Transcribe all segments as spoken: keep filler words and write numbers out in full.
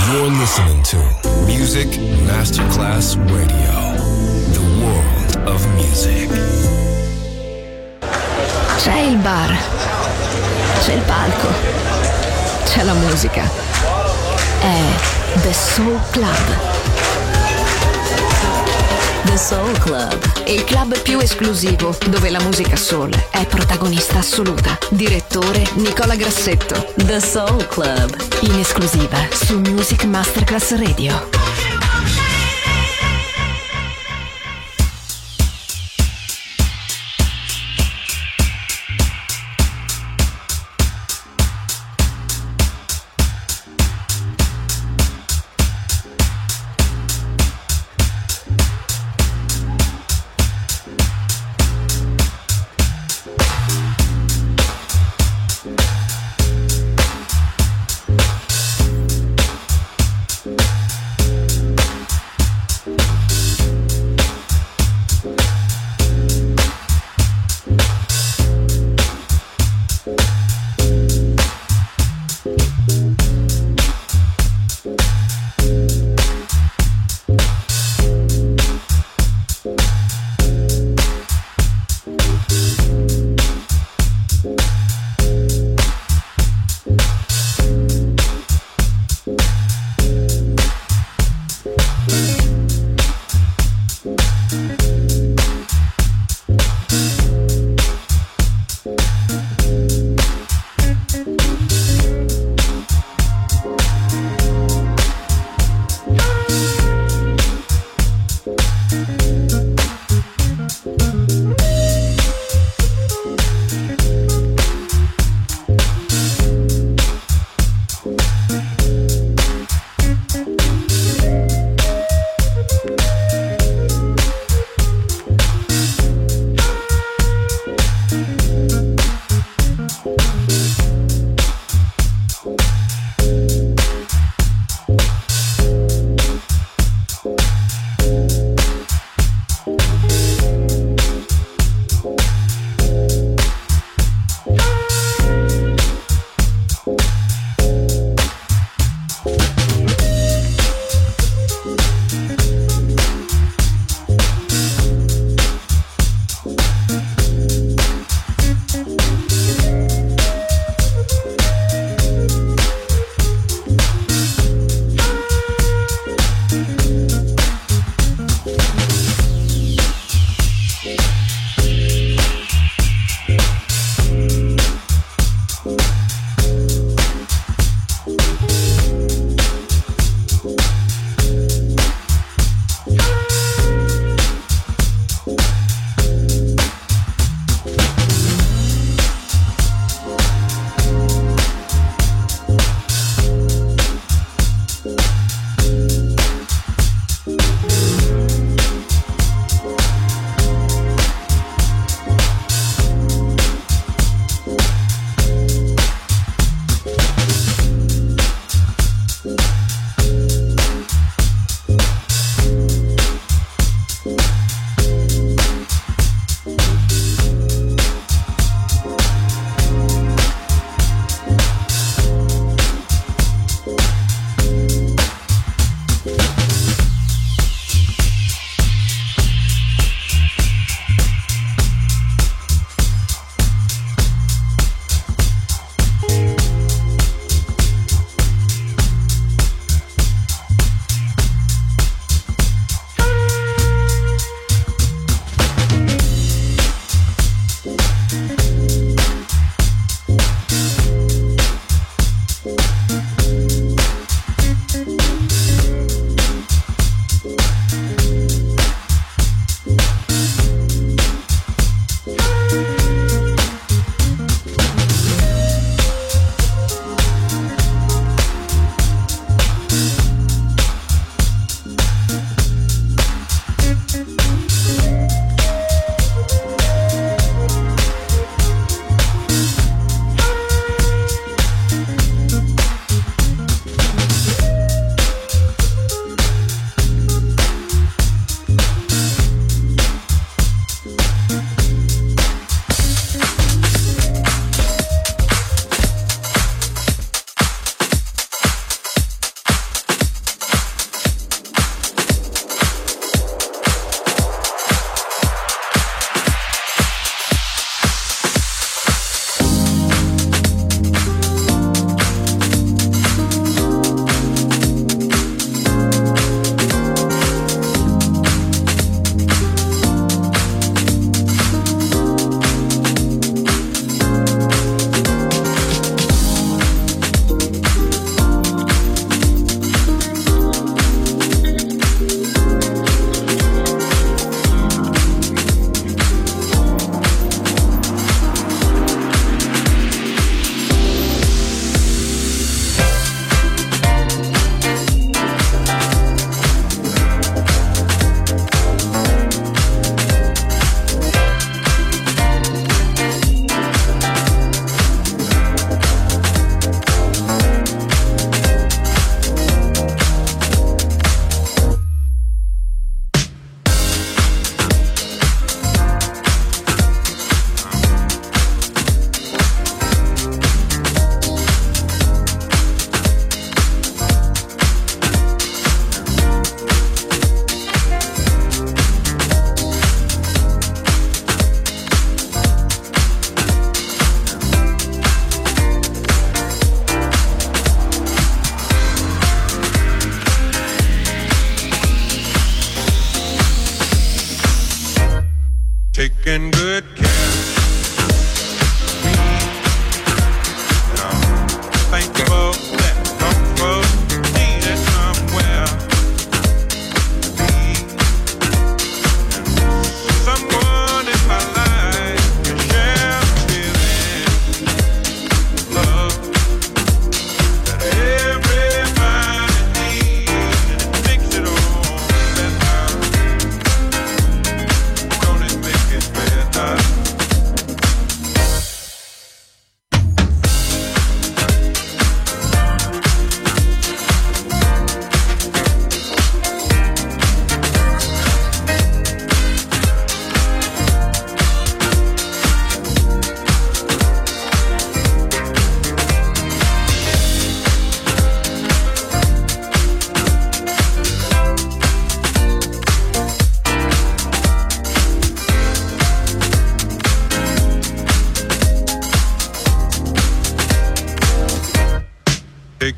You're listening to Music Masterclass Radio, the world of music. C'è il bar, c'è il palco, c'è la musica. È The Soul Club. The Soul Club, il club più esclusivo dove la musica soul è protagonista assoluta. Direttore Nicola Grassetto. The Soul Club, in esclusiva su Music Masterclass Radio.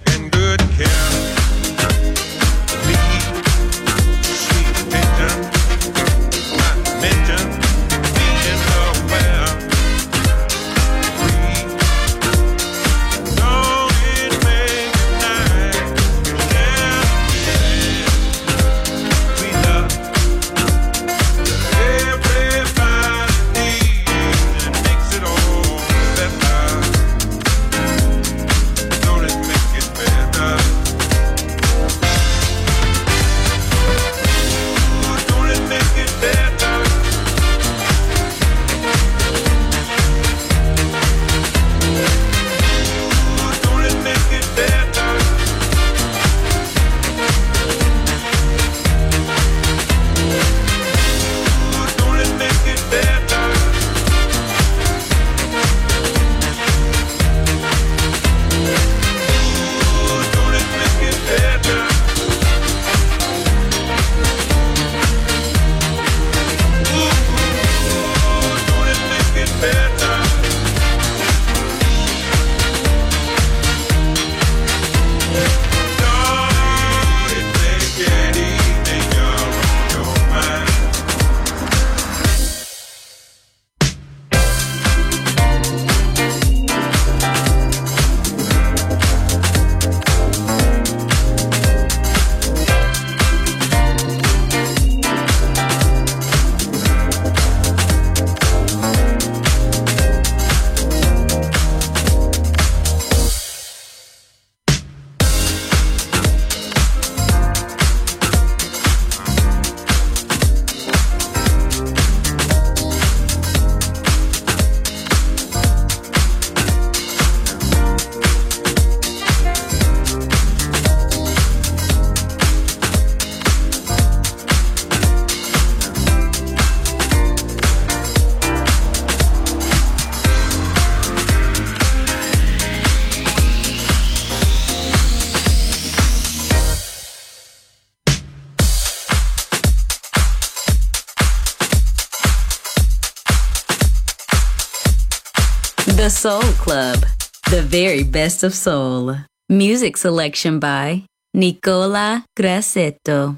The Soul Club, the very best of soul. Music selection by Nicola Grassetto.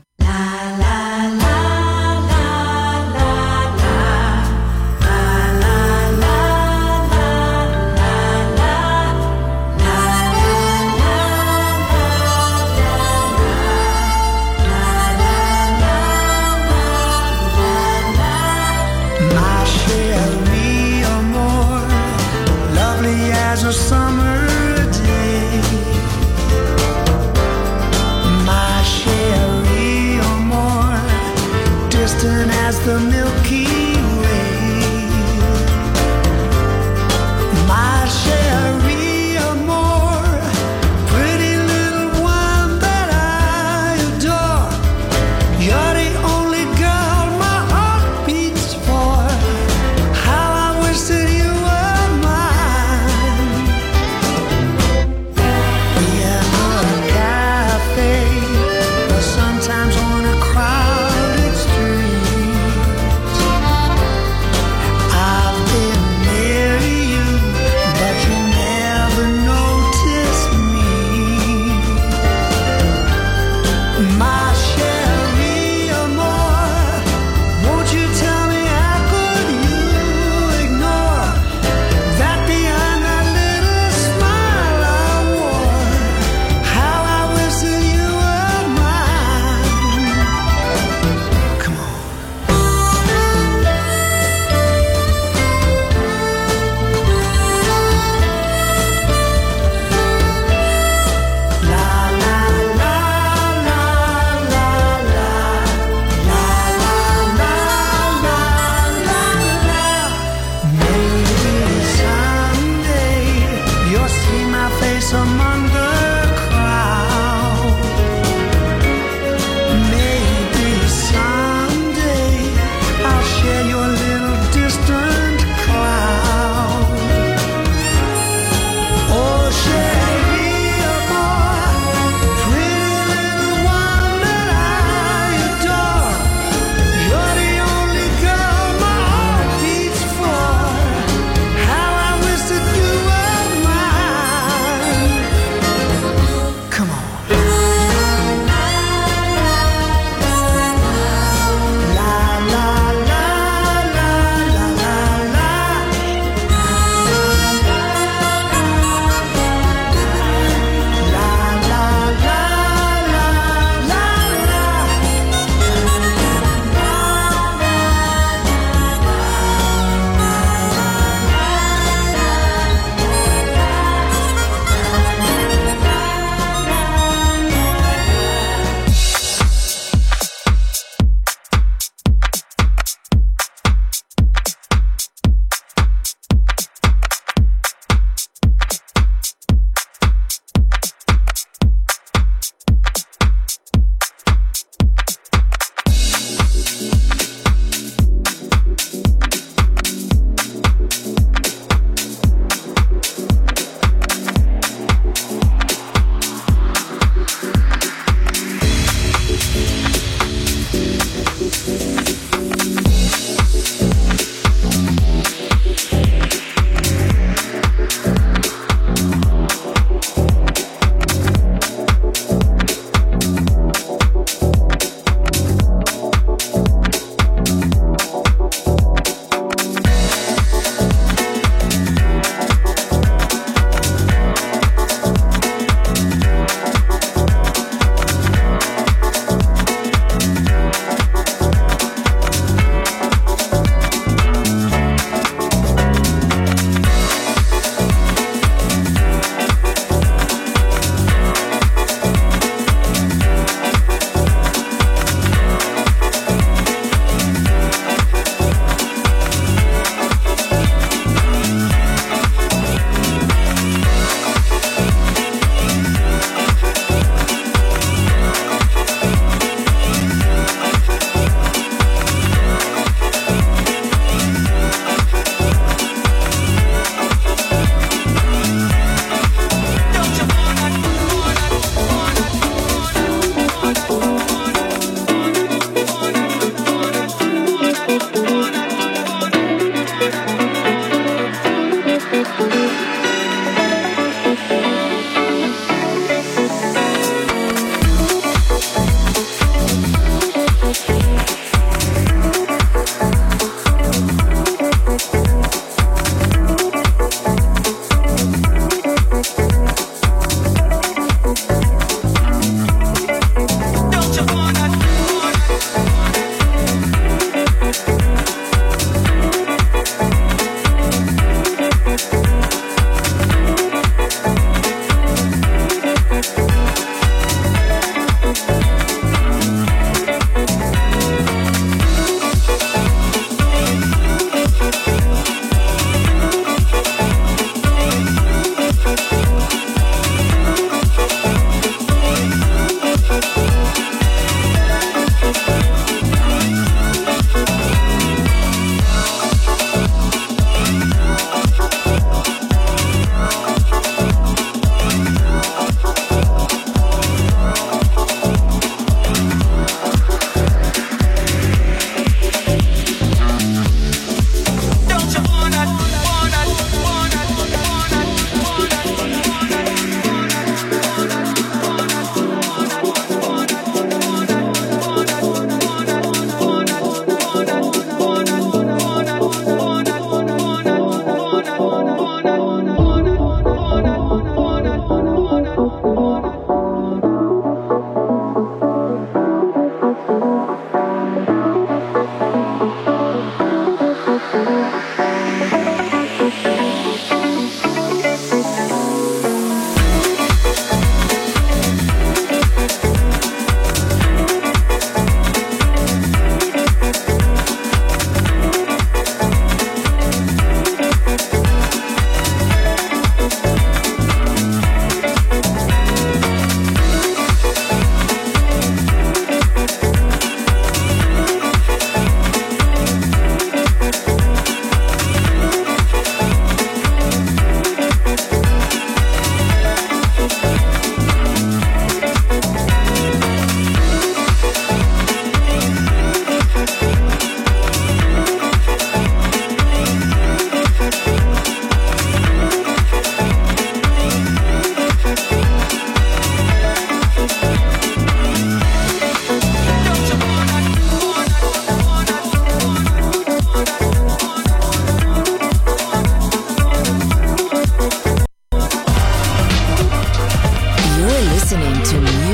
As a summer day, my Sherry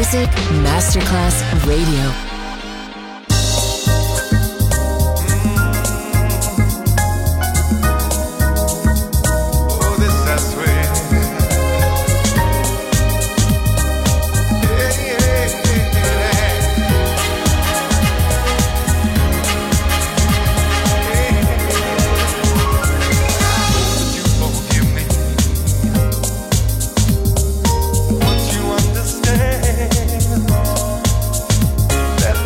Music Masterclass Radio. That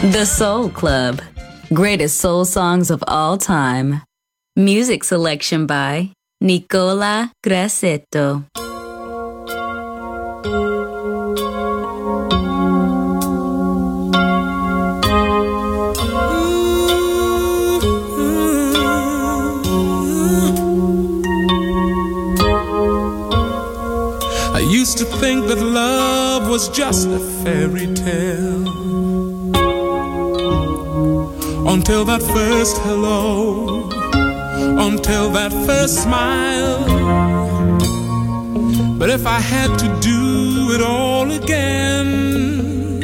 The Soul Club. Greatest soul songs of all time. Music selection by Nicola Grassetto. I used to think that love was just a fairy tale, until that first hello, until that first smile. But if I had to do it all again,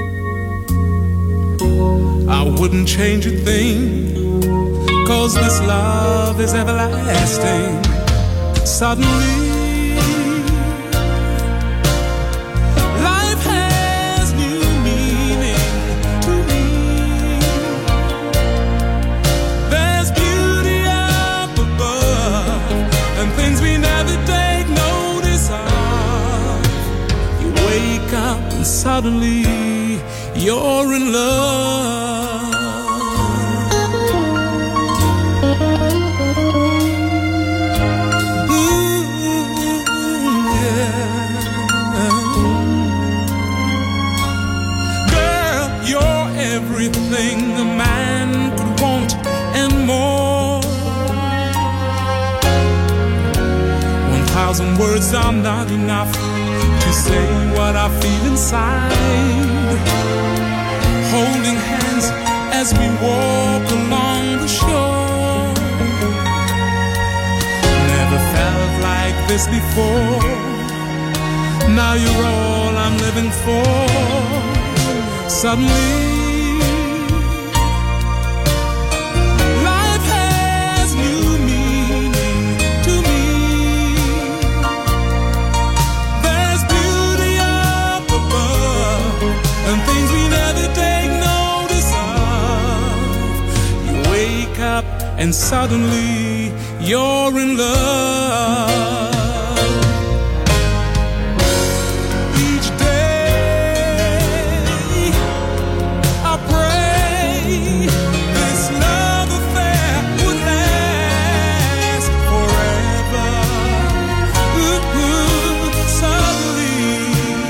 I wouldn't change a thing, 'cause this love is everlasting. Suddenly suddenly you're in love. Ooh, yeah. Girl, you're everything a man could want and more. One thousand words are not enough to say what I feel inside. Holding hands as we walk along the shore. Never felt like this before. Now you're all I'm living for. Suddenly and suddenly you're in love. Each day I pray this love affair would last forever. Ooh, ooh, suddenly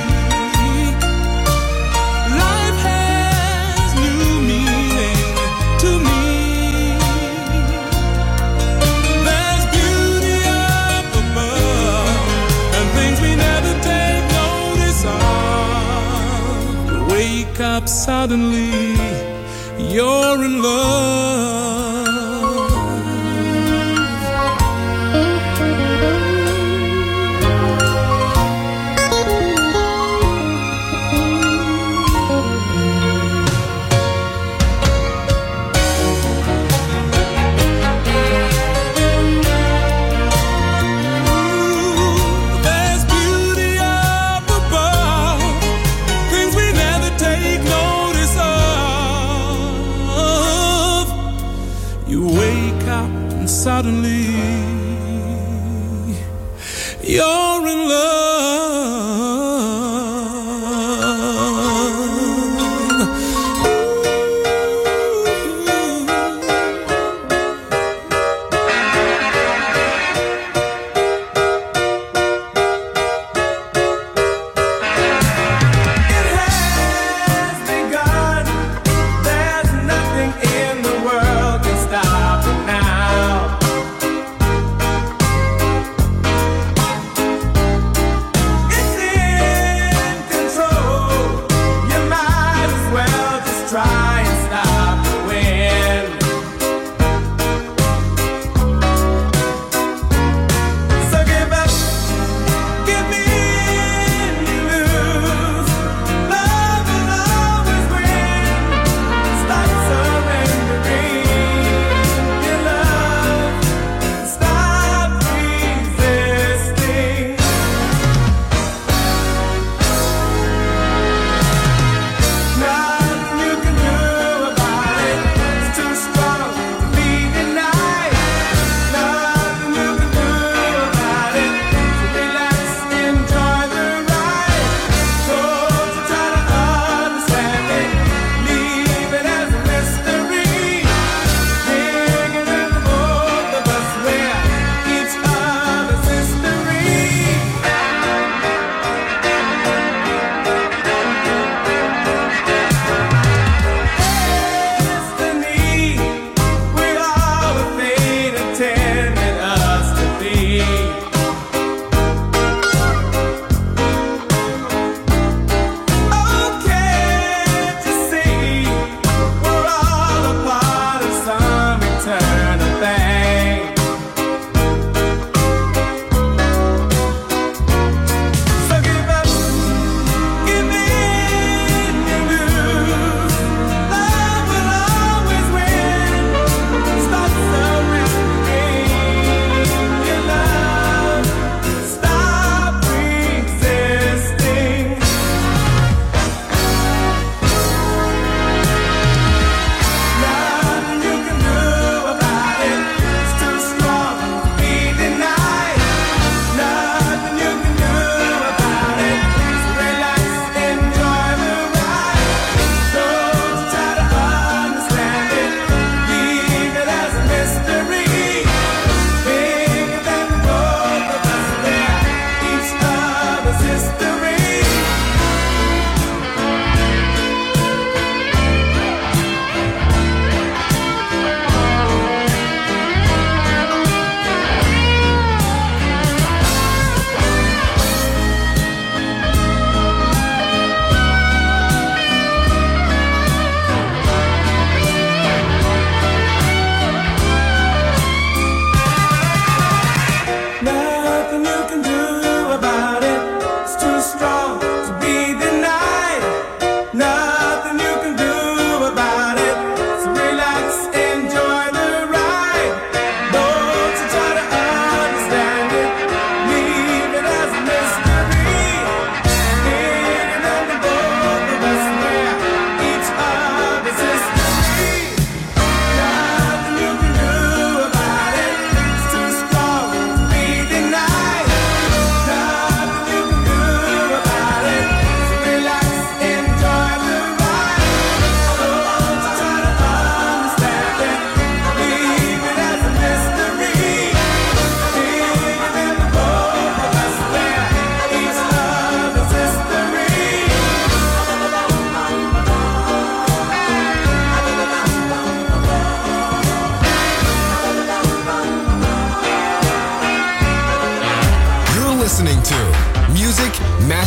life has new meaning to me. Up suddenly you're in love. Suddenly you're in love.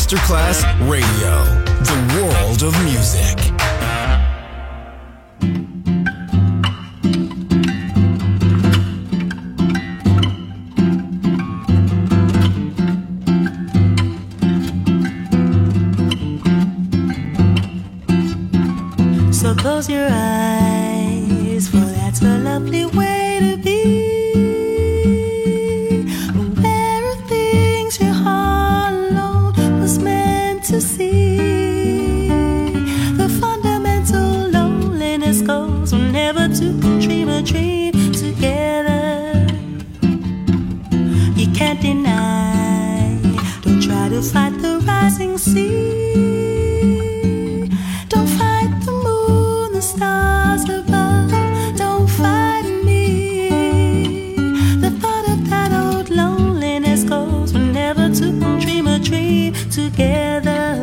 Masterclass Radio, the world of music. So close your eyes, for that's a lovely way to be. Aware of things your heart alone was meant to see. The fundamental loneliness goes whenever two dream a dream together. You can't deny, don't try to fight the rising sea. Stars above, don't fight me. The thought of that old loneliness goes whenever two dream a dream together.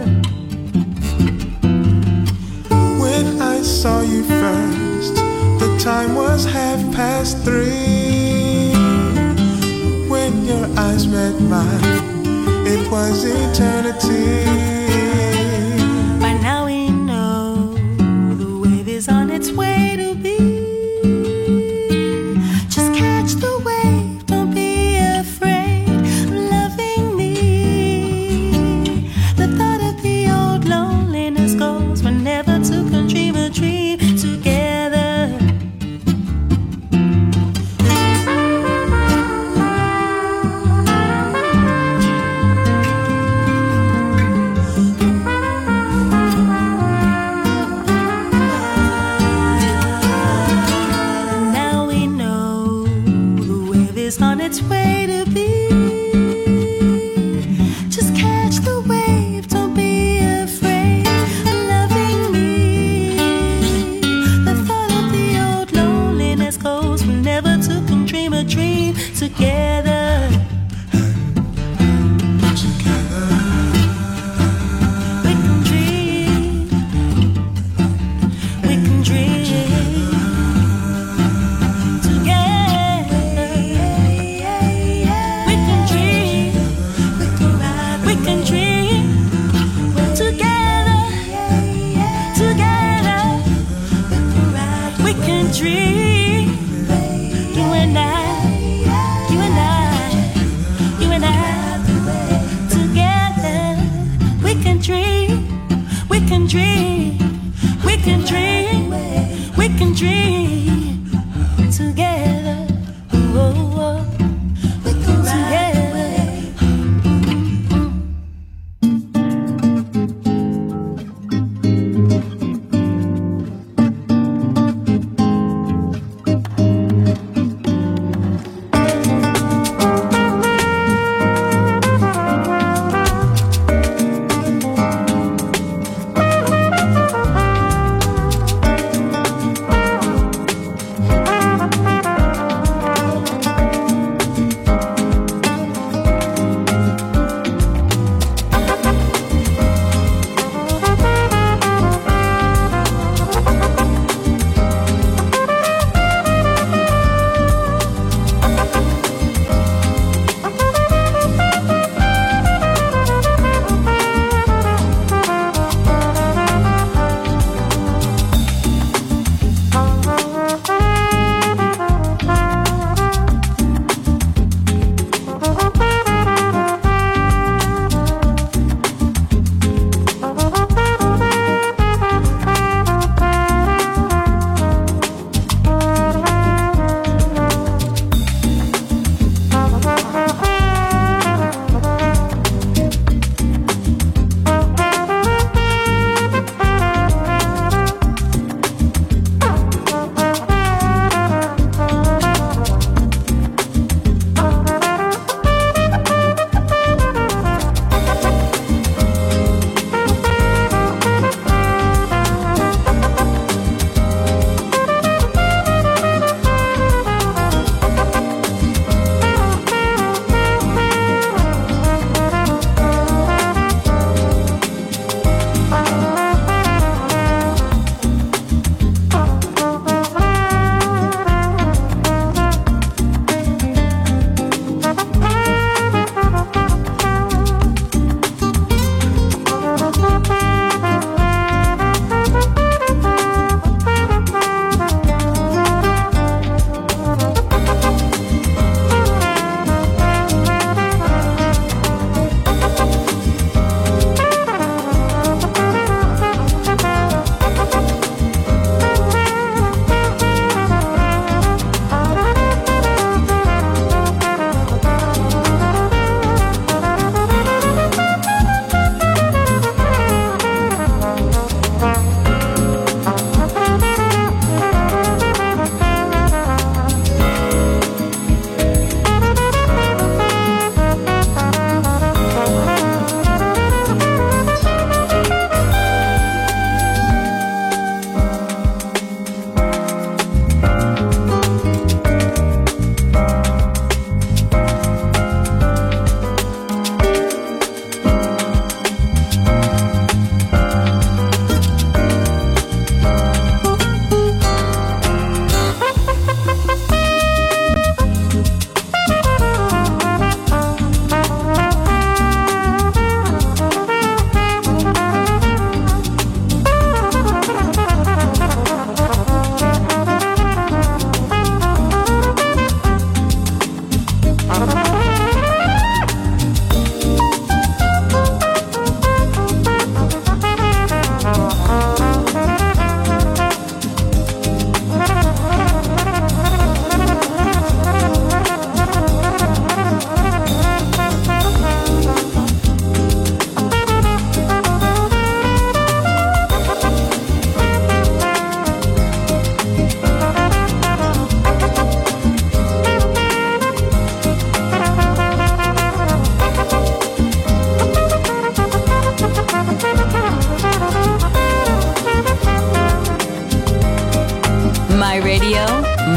When I saw you first, the time was half past three. When your eyes met mine, it was eternity. On its way to be. Just catch the wave, don't be afraid of loving me. The thought of the old loneliness goes whenever two can dream a dream together. On its way to be. Just catch the wave, don't be afraid of loving me. The thought of the old loneliness goes whenever two can dream a dream together. Together. We can dream. We can dream. Dream, you and I, you and I, you and I, together. We can dream, we can dream, we can dream, we can dream together. Oh, oh, we can together.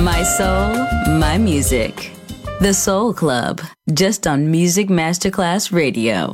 My soul, my music. The Soul Club, just on Music Masterclass Radio.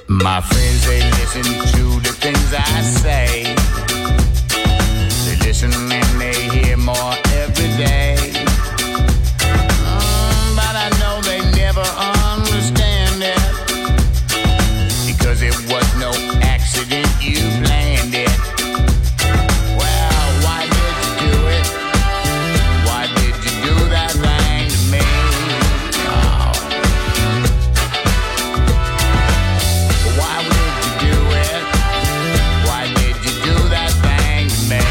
My friends, they listen to the things I say. They listen and they hear more every day. Mm, but I know they never understand it, because it was no accident, you planned it. Well, why did you do it? Why did you do that thing to me? Oh. Why would you do it? Why did you do that thing to me?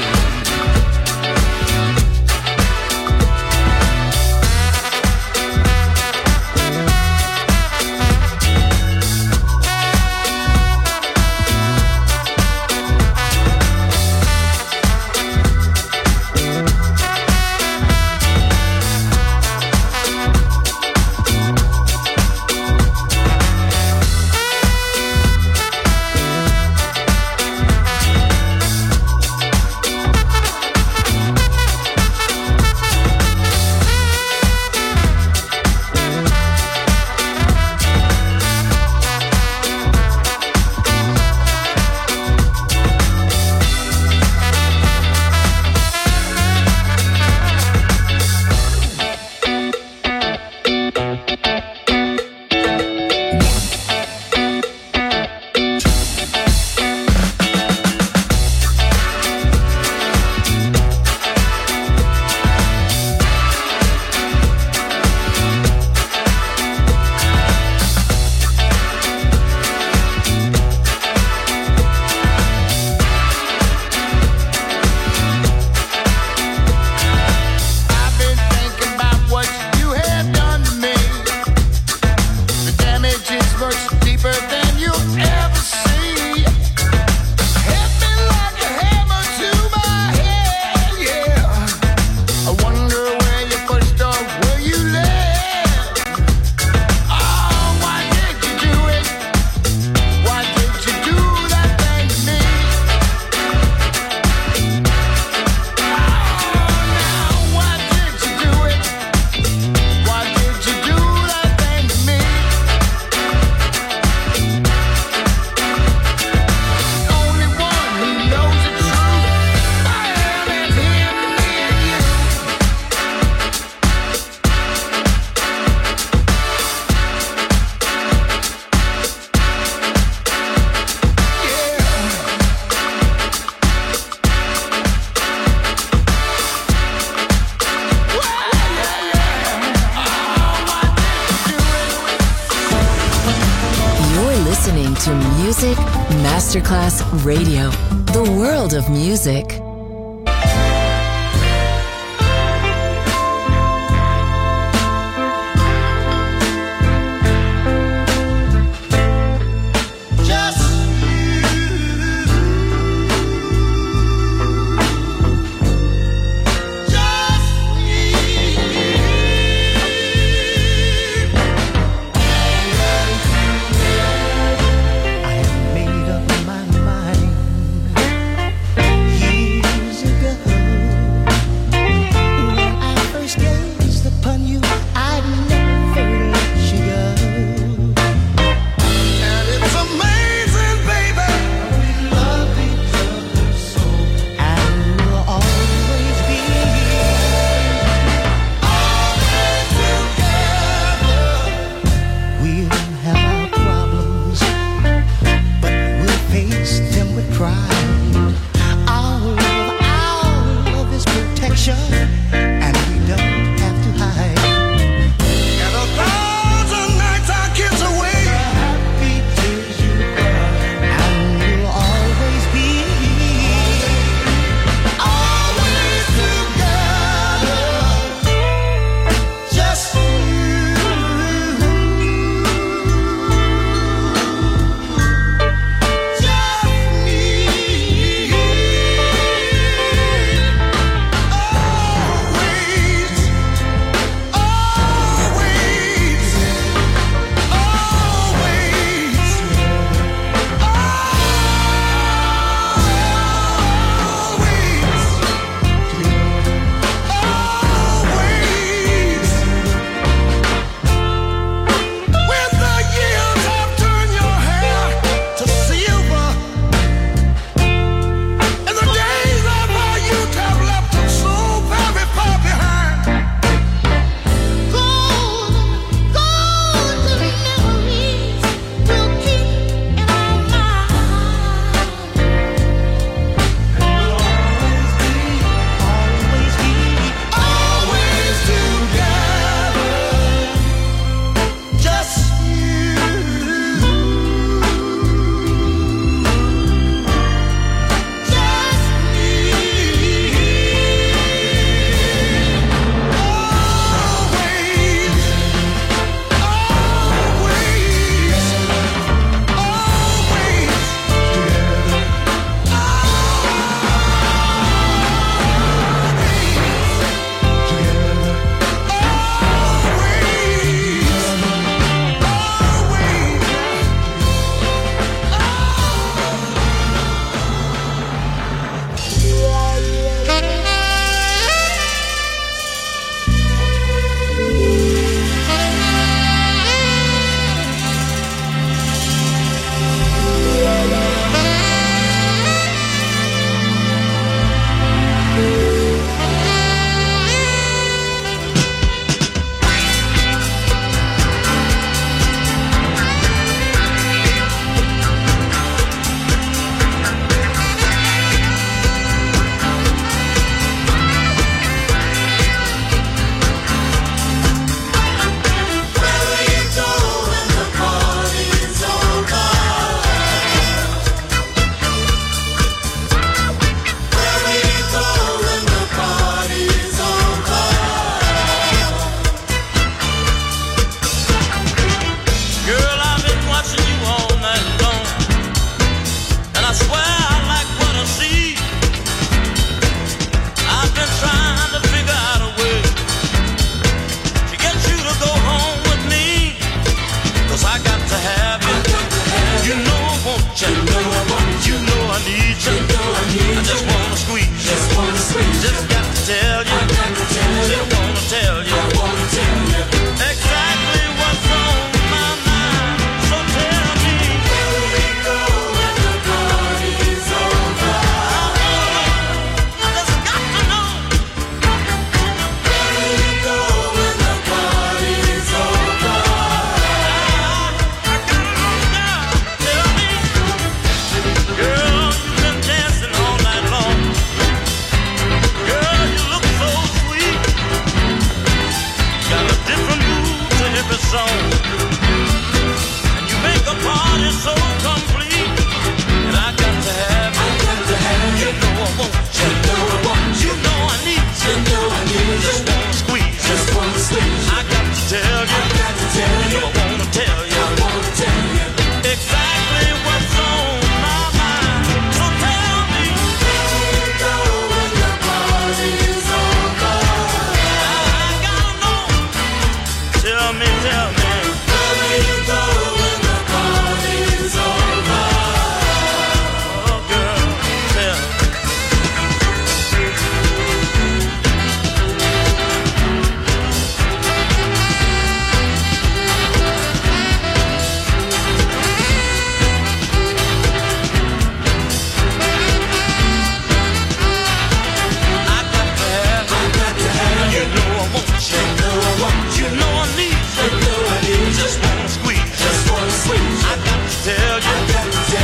Masterclass Radio, the world of music. Made up my mind. Yeah.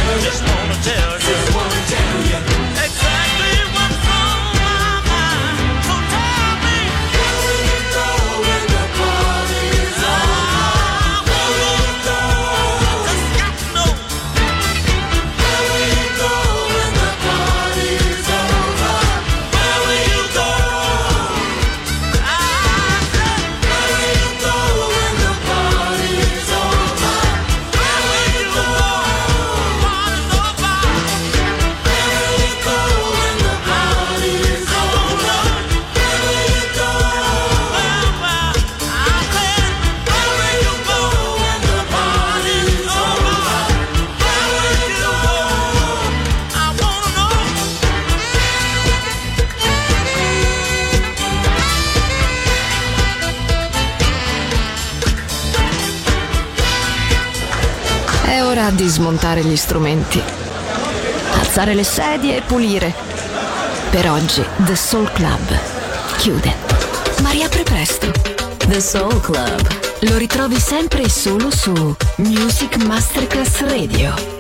Just wanna tell you. Just wanna tell you. Exactly what's on my mind. So tell me. Where will you go when the party is over? Where will you go? Just got to know. Where will you go when the party is over? Where will you go? I said, where will you go when the party is over? Where will you go? Party's over. Where will you go when the party is over? Where will you go? Well, well, I said, where will you go when the party is over? Where will you go? I wanna know. È ora di smontare gli strumenti, alzare le sedie e pulire. Per oggi The Soul Club chiude, ma riapre presto. The Soul Club. Lo ritrovi sempre e solo su Music Masterclass Radio.